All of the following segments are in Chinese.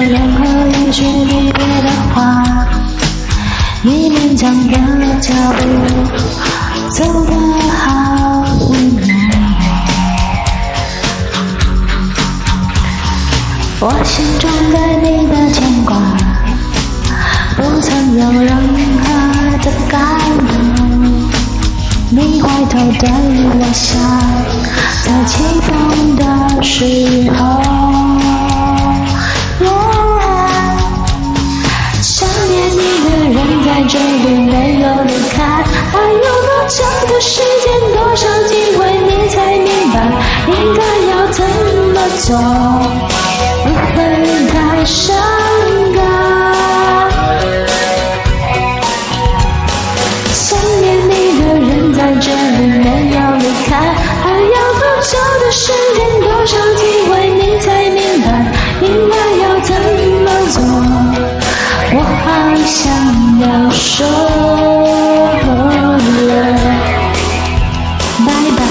任何一句離別的話，你勉強的腳步走得好無奈。我心中對你的牽掛不曾有任何的改變，你回頭對我笑，在起風的時候，想念你的人在這裡沒有離開，還有多長的時間，多少機會你才明白應該要怎麼做，不會太傷感。想念你的人在這裡沒有離開，還要多久的時間，多少機會你才明白應該要怎麼做，我好想要說拜拜。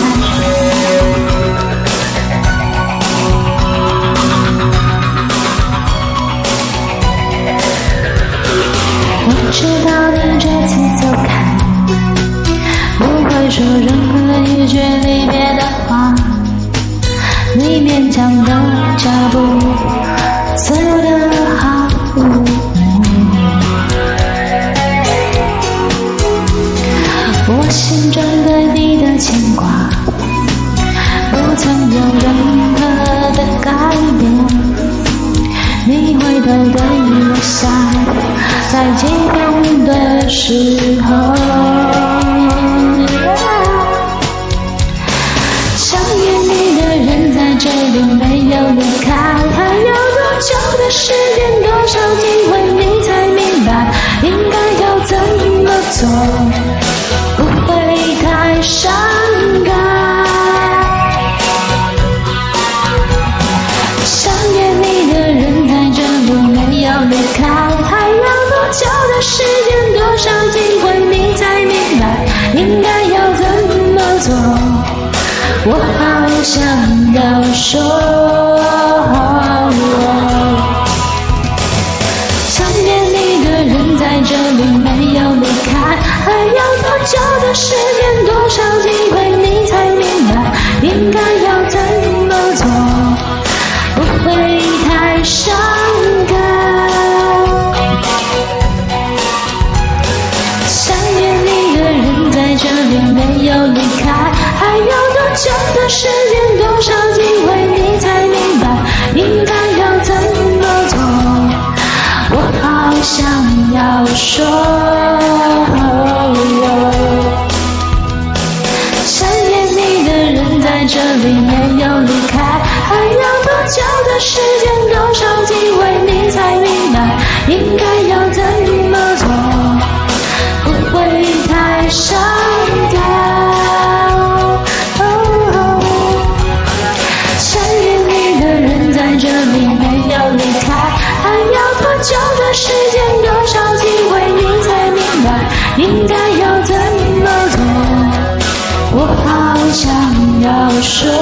我知道你這次走開不會說任何一句離別的話，你勉強的腳步走得好無奈。我心中對你的牽掛不曾有任何的改變，你回頭對我笑，在激動的時候，想念你的人在這裡沒有離開，還有多久的時間，多少機會你才明白應該要怎麼做，不會太傷感。想念你的人在這裡沒有離開，還有多久的時間，多少機會你才明白應該要怎麼做，我好想要說想念你的人在這裡沒有離開，還有多久的時間，多少機會你才明白應該要怎麼做，不會太傷感。想念你的人在這裡沒有離開，還有多久的時間，多少機會你才明白應該要怎麼做，我好想要說想念你的人在這裡沒有離開，還有多久的時間，多少機會你才明白應該要怎麼做，不會太傷感。想念你的人在這裡沒有離開，還要多久的時間，多少機會你才明白應該要怎麼做，我好想要說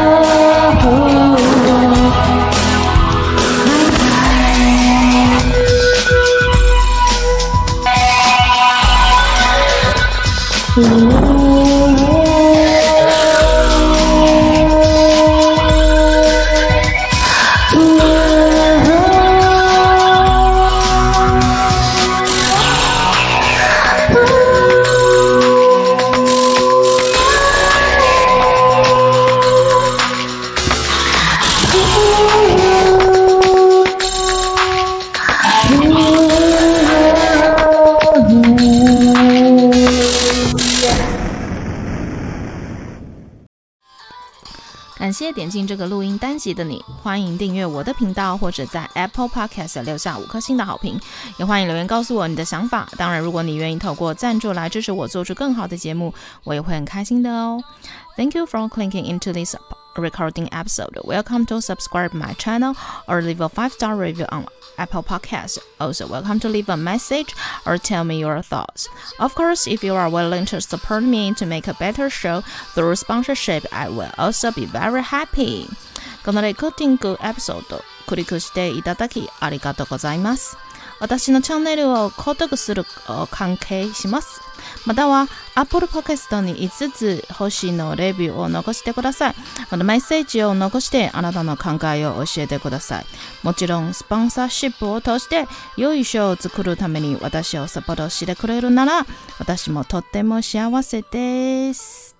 感谢点進這個錄音單集的你，歡迎訂閱我的頻道，或者在 Apple Podcast 留下5顆星的好評，也歡迎留言告訴我你的想法。當然，如果你願意透過贊助來支持我做出更好的節目，我也會很開心的哦。Thank you for clicking into this recording episode. Welcome to subscribe my channel or leave a 5-star review on Apple Podcasts. Also, welcome to leave a message or tell me your thoughts. Of course, if you are willing to support me to make a better show through sponsorship, I will also be very happy. このレコーディングエピソードクリックしていただきありがとうございます。私のチャンネルを購読する関係します。または Apple Podcast に5つ星のレビューを残してください。またメッセージを残してあなたの考えを教えてください。もちろんスポンサーシップを通して良いショーを作るために私をサポートしてくれるなら私もとっても幸せです。